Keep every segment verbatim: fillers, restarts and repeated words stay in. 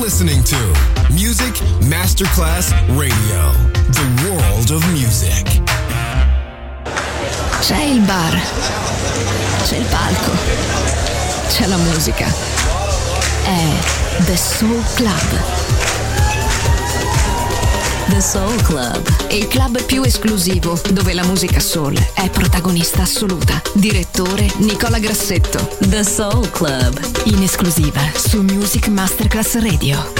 listening to Music Masterclass Radio, the world of music. C'è il bar, c'è il palco, c'è la musica. È The Soul Club. The Soul Club, il club più esclusivo dove la musica soul è protagonista assoluta. Direttore Nicola Grassetto. The Soul Club, in esclusiva su Music Masterclass Radio.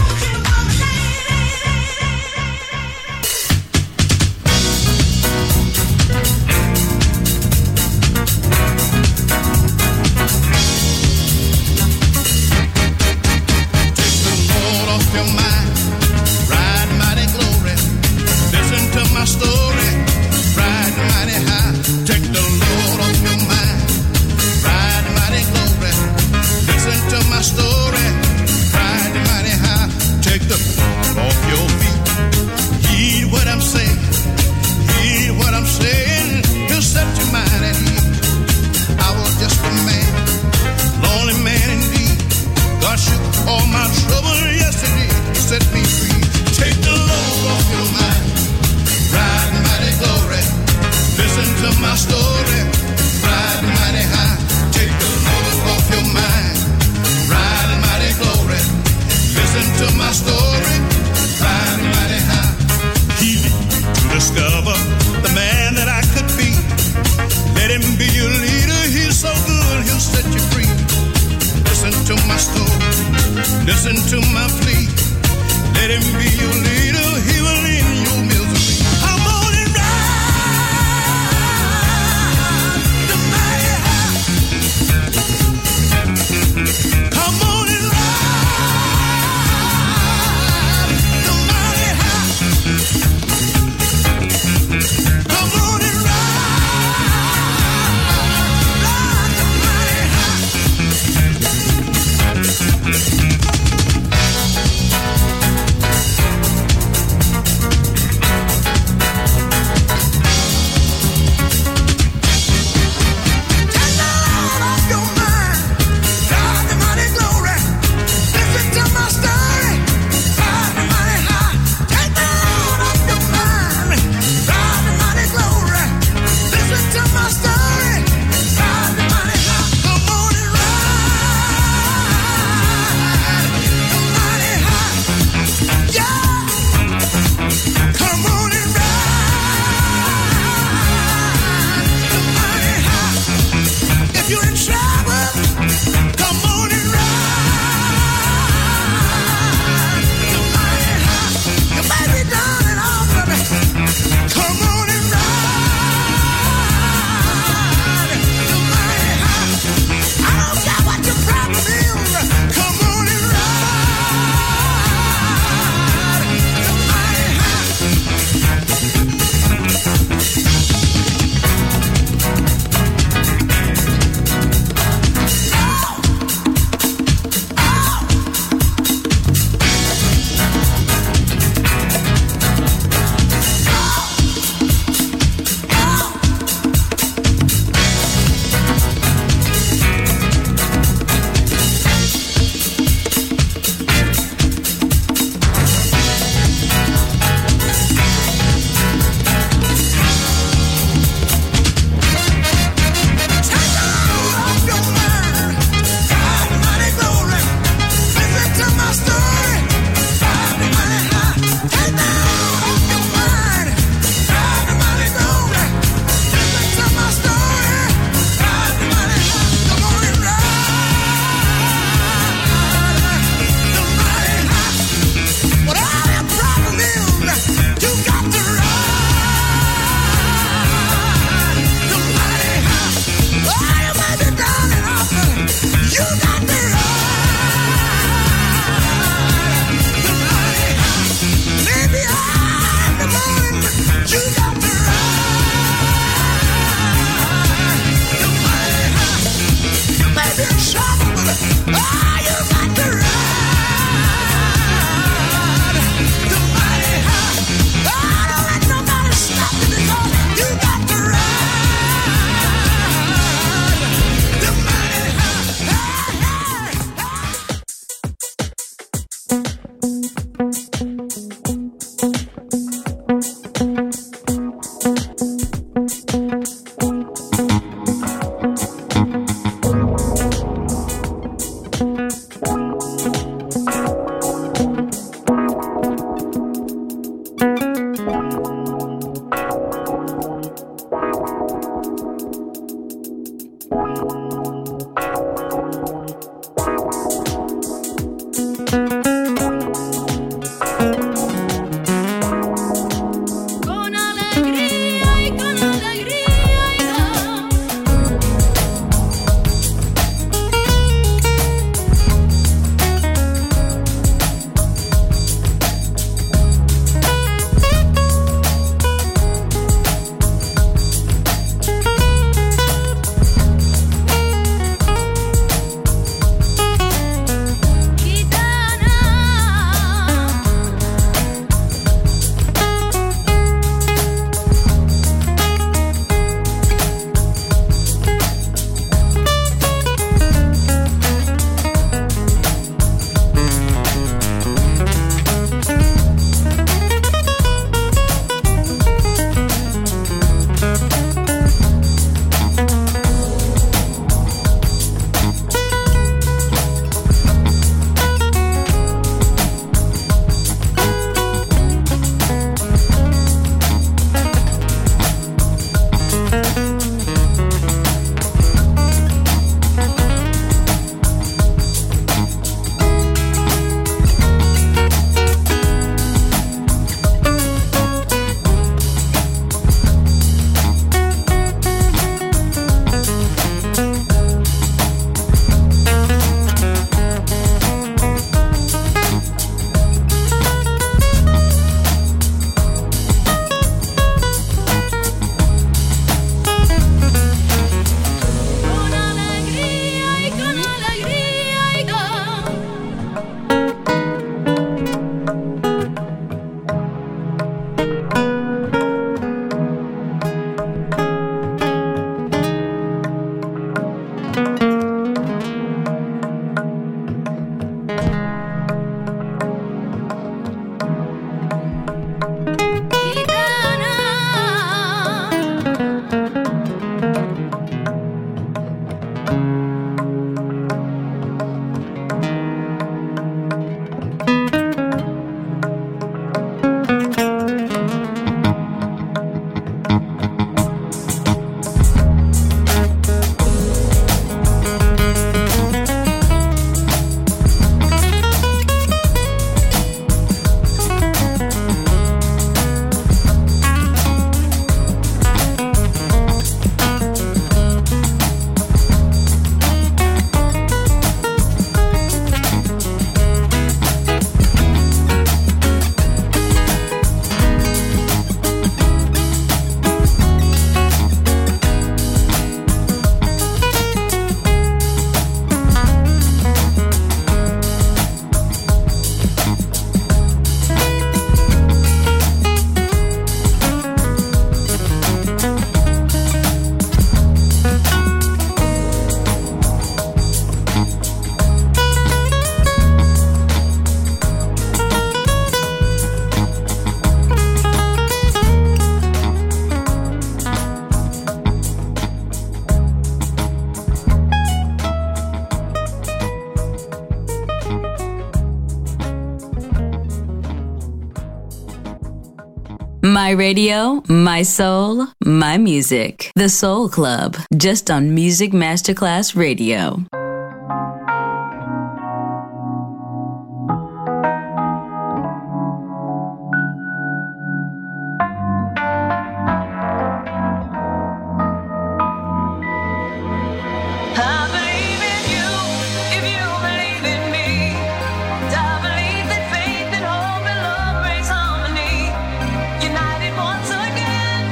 My radio, my soul, my music. The Soul Club, just on Music Masterclass Radio.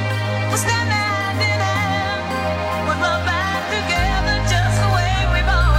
Stand hand in hand, put my back together just the way we both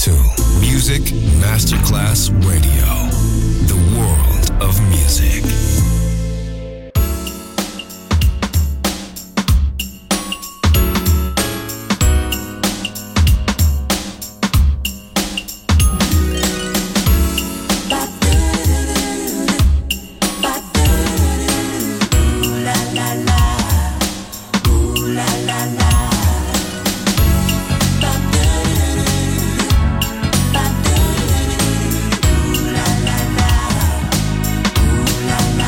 to Music Masterclass Radio, the world of music. La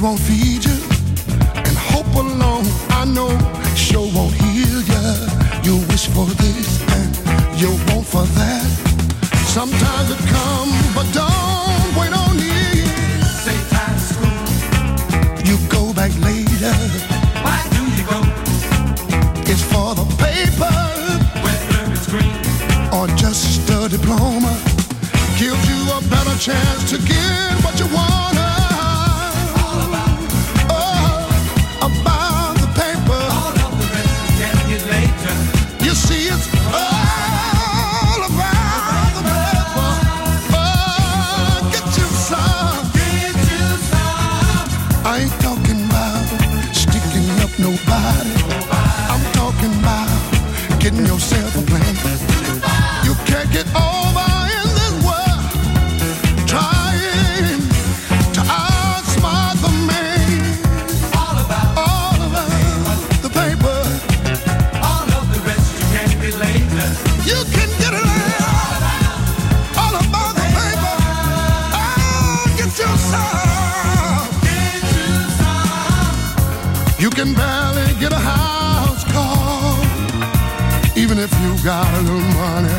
won't feed you, and hope alone, I know, sure won't heal you. You wish for this and you want for that. Sometimes it comes, but don't wait on it. Say time to school. You go back later. Why do you go? It's for the paper. Whether it's green or just a diploma, gives you a better chance to get what you want. all about, Oh, about the paper. all of the rest you can get later. You see, it's all about the paper. Oh, get you some. Get you some. I ain't talking about sticking up nobody. I'm talking about getting yourself a plan. You can't get over in this world trying to outsmart the man. All about, All about the paper. all of the rest you can get later. You can get it later. All about the paper. Oh, get you some. Get you some. You can barely get a house call, even if you got a little money.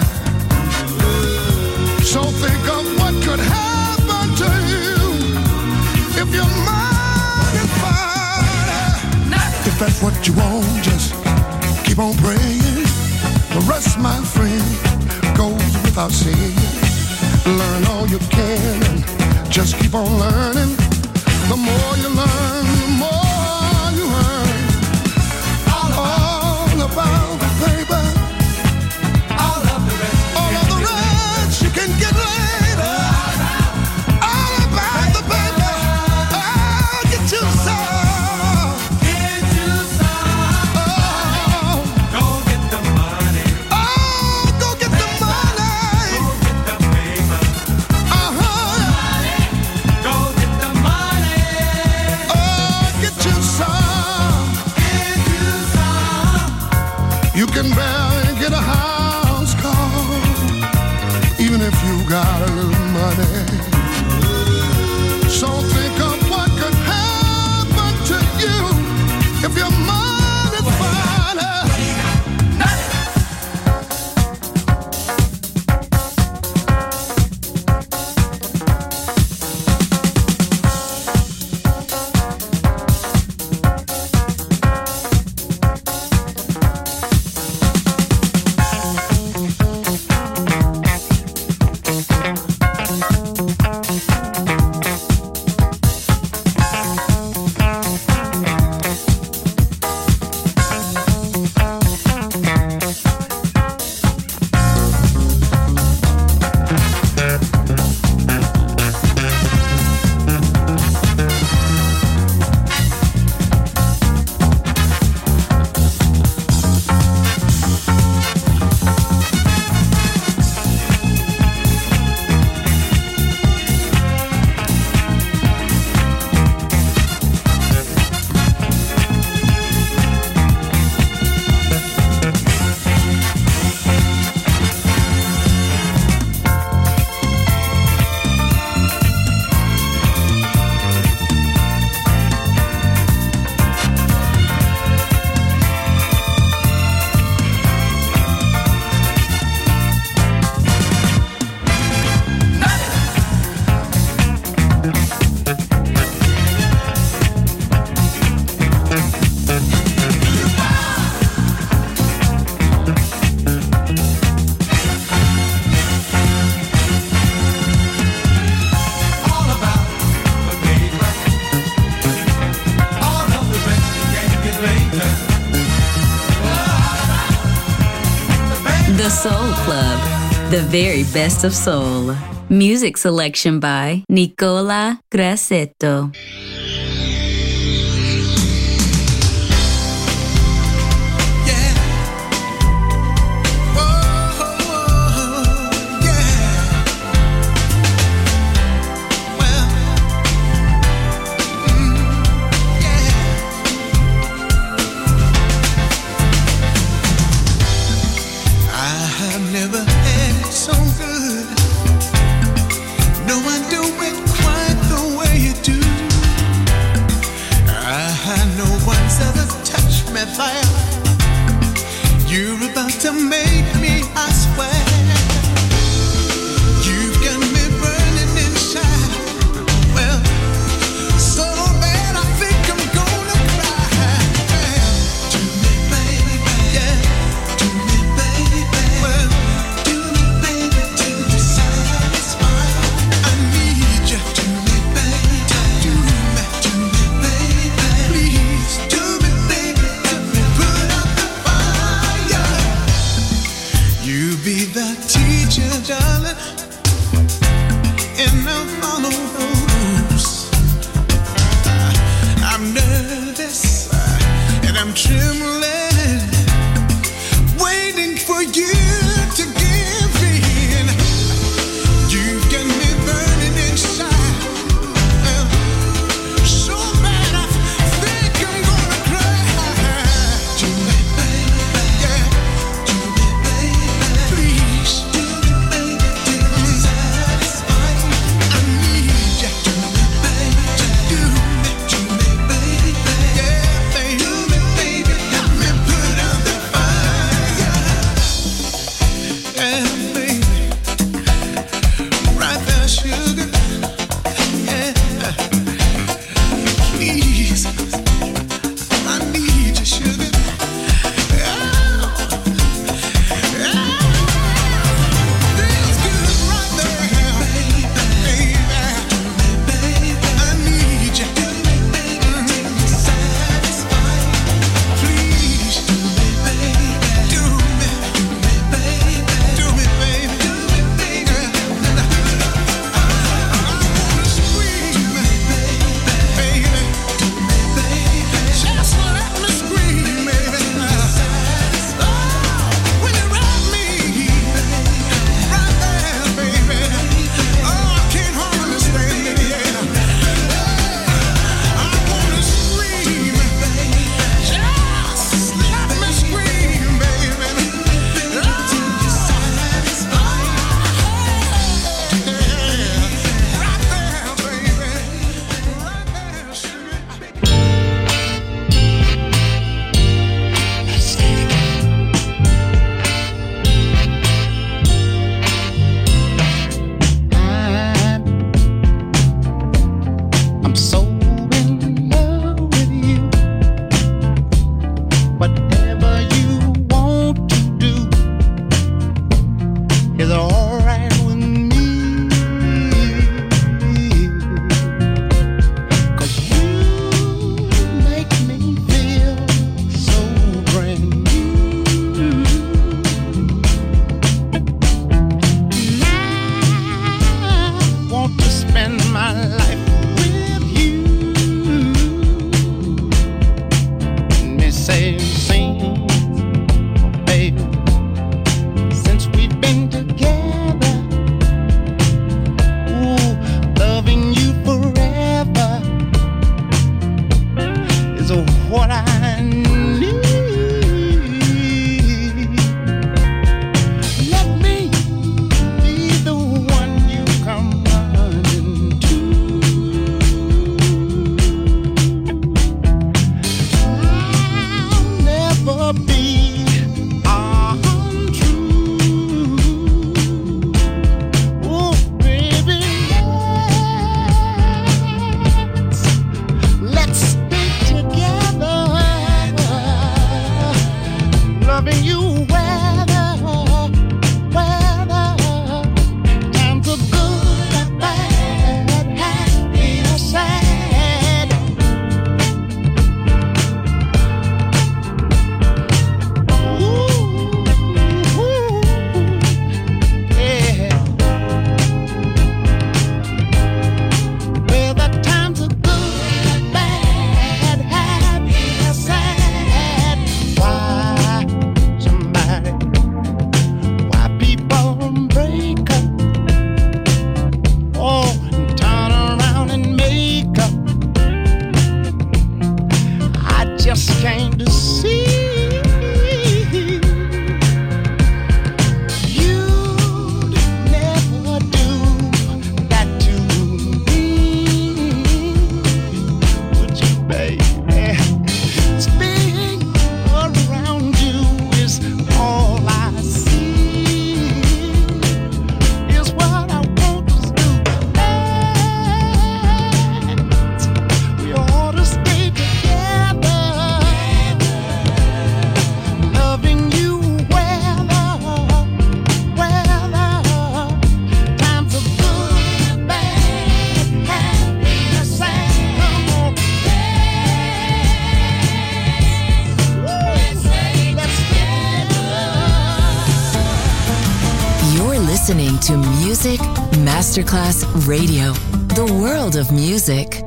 So think of what could happen to you if your mind is fine. If that's what you want, just keep on praying. The rest, my friend, goes without saying. Learn all you can and just keep on learning. The more you learn, the more you earn. All about the paper. All of the rest you All can of the get rest you can get later. All about the paper. Oh, get you some. Get you some. Oh, Go get the money. oh, go get the money. Go get the paper. Uh-huh. Go get the money. Oh, get you some. Get you some. You can barely get a house call, even if you got a little money. So think of what could happen to you if your mind is fine. All about the paper. All of the rest you can get later. The Soul Club, the very best of soul. Music selection by Nicola Grassetto. Never had it so good. No, I do it quite the way you do. fire. You're about to make me, I swear. You've got me burning inside. Well, so bad I think I'm gonna cry. Do me, baby, yeah. Do me, baby, well, do me, baby, to be satisfied. I need you. Do me, baby, do me, do me, baby, please. Do me, baby, to me, put out the fire. listening to Music Masterclass Radio, the world of music.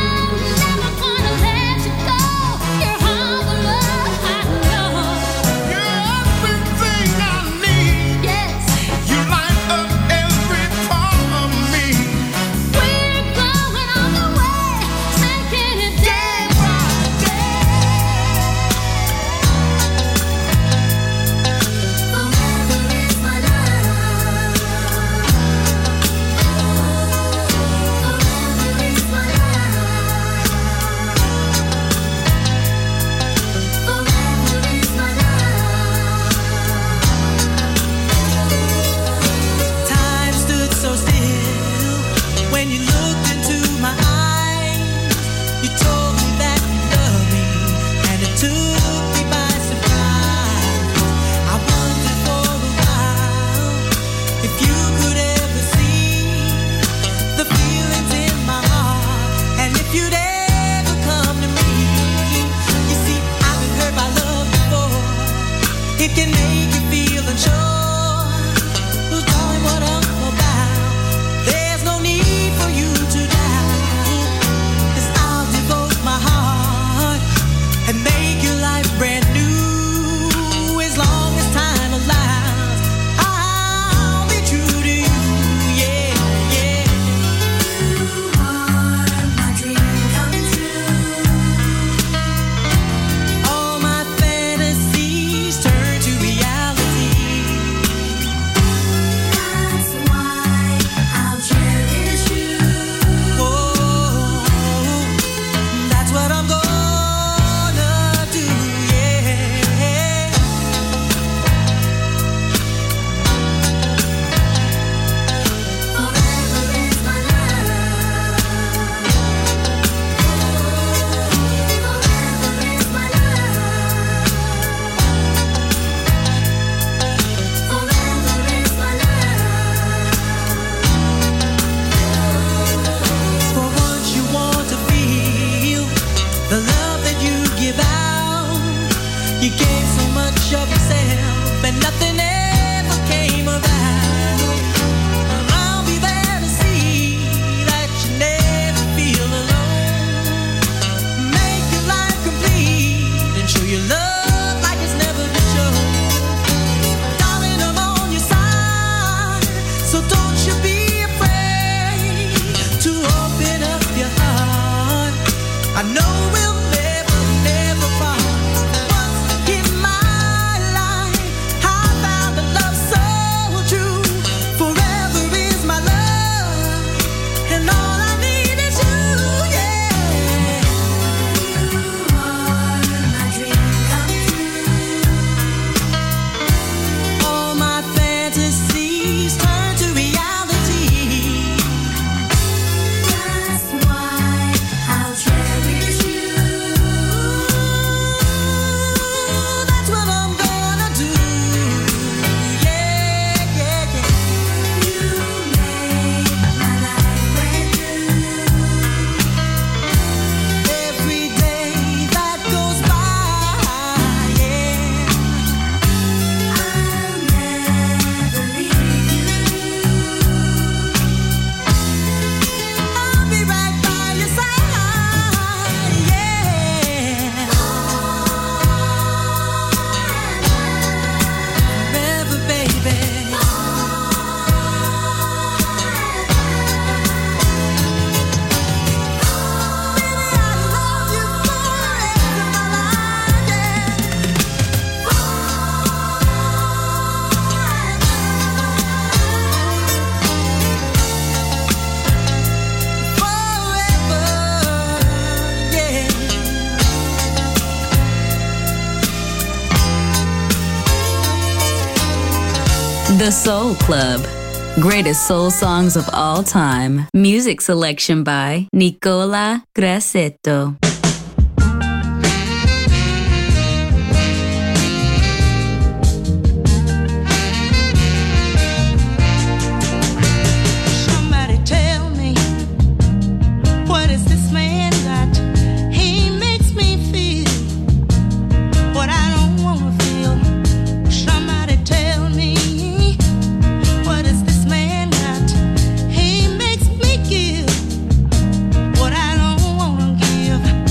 You're of yourself and nothing ever came about. I'll be there to see that you never feel alone. Make your life complete and show your love like it's never been shown. Darling, I'm on your side, so don't you be afraid to open up your heart. I know we'll never, never part. Once in my life, I found a love so true. Forever is my love, and all I need is you, yeah. You are my dream come true. All my fantasies turn to reality. That's why I'll cherish you. That's what I'm gonna do. Yeah, yeah, yeah. You make my life brand new. Every day that goes by, yeah. I'll never leave you. I'll be right by your side, yeah. Forever, baby. The Soul Club. Greatest soul songs of all time. Music selection by Nicola Grassetto. Somebody tell me, what is this man got? He makes me feel what I don't wanna feel. Somebody tell me, what is this man got? He makes me give what I don't wanna give.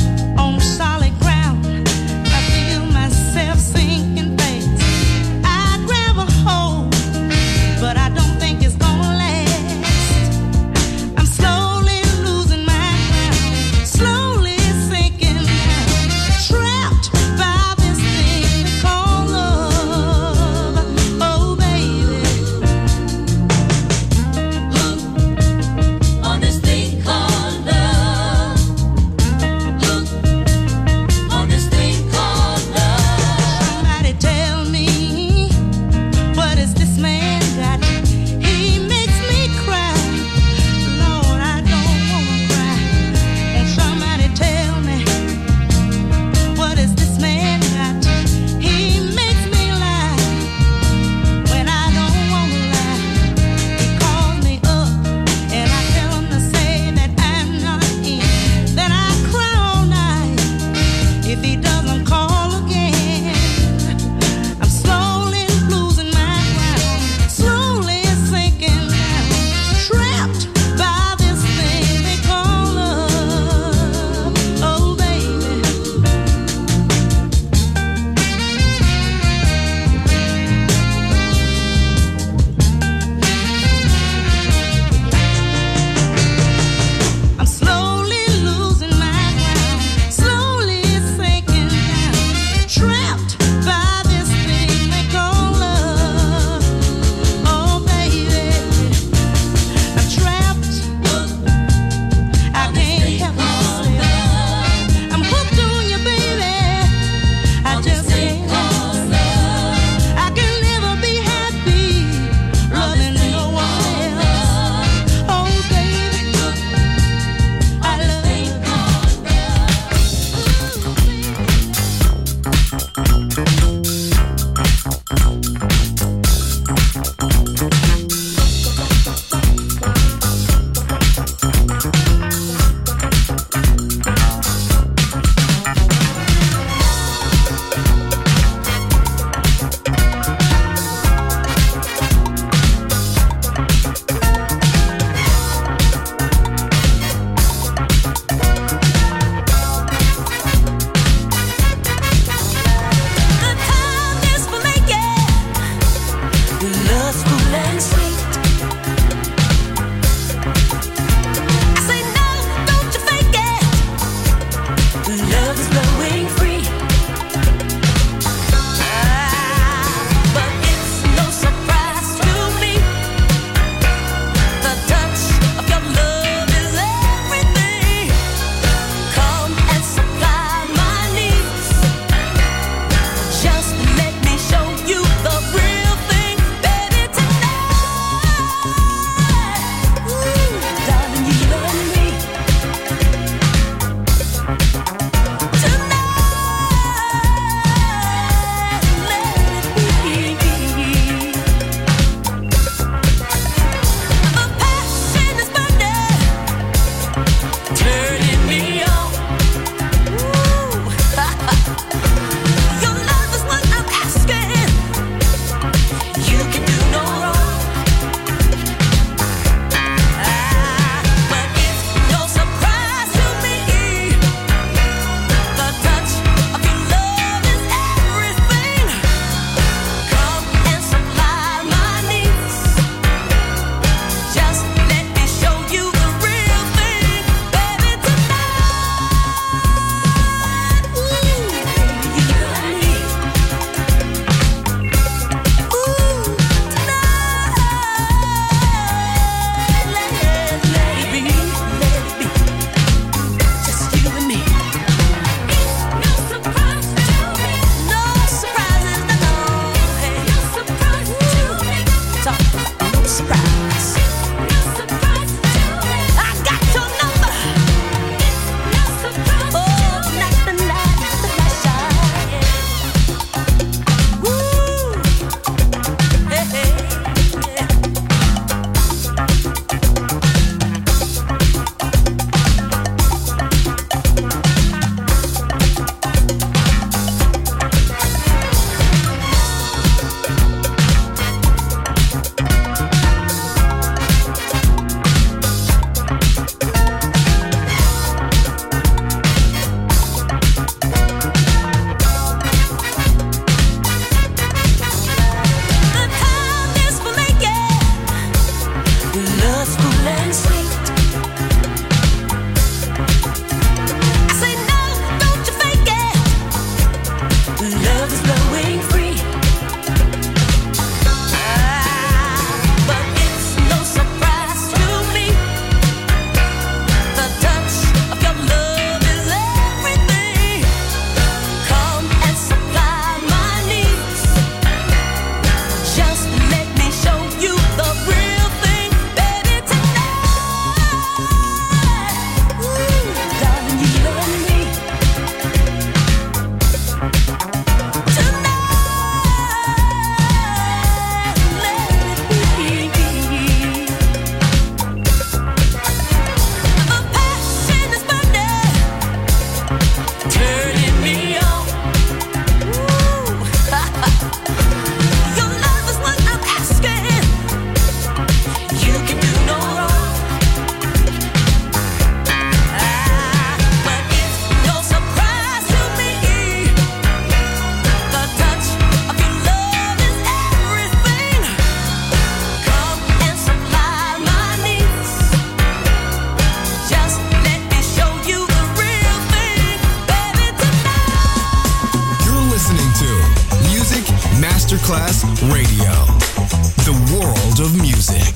Masterclass Radio, the world of music.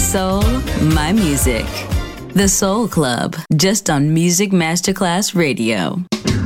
soul, my music. The Soul Club, just on Music Masterclass Radio.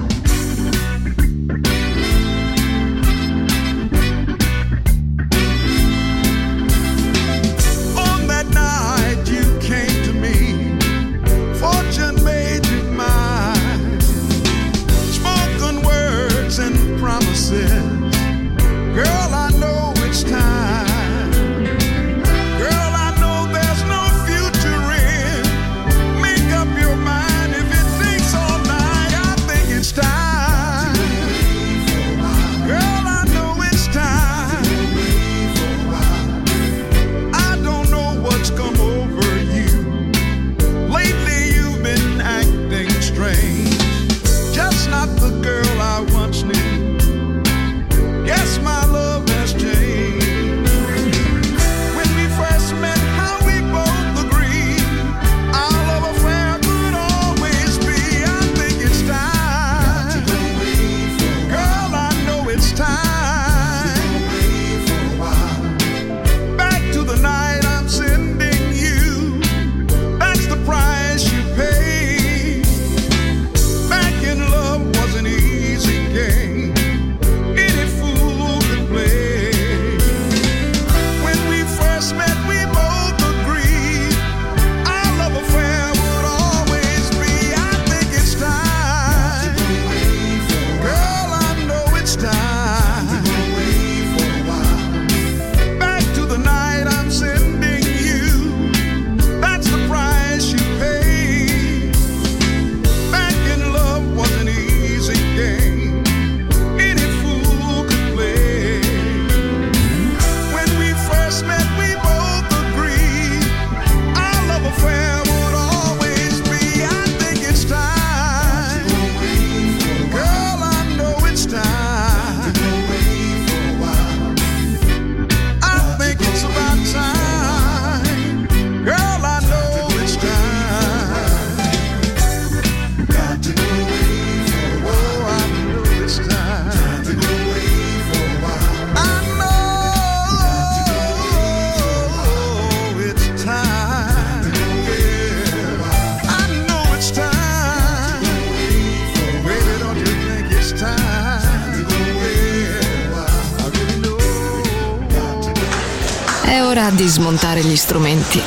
È ora di smontare gli strumenti,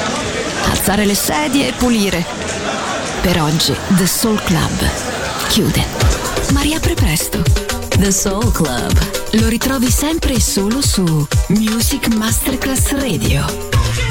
alzare le sedie e pulire. Per oggi The Soul Club chiude, ma riapre presto. The Soul Club lo ritrovi sempre e solo su Music Masterclass Radio.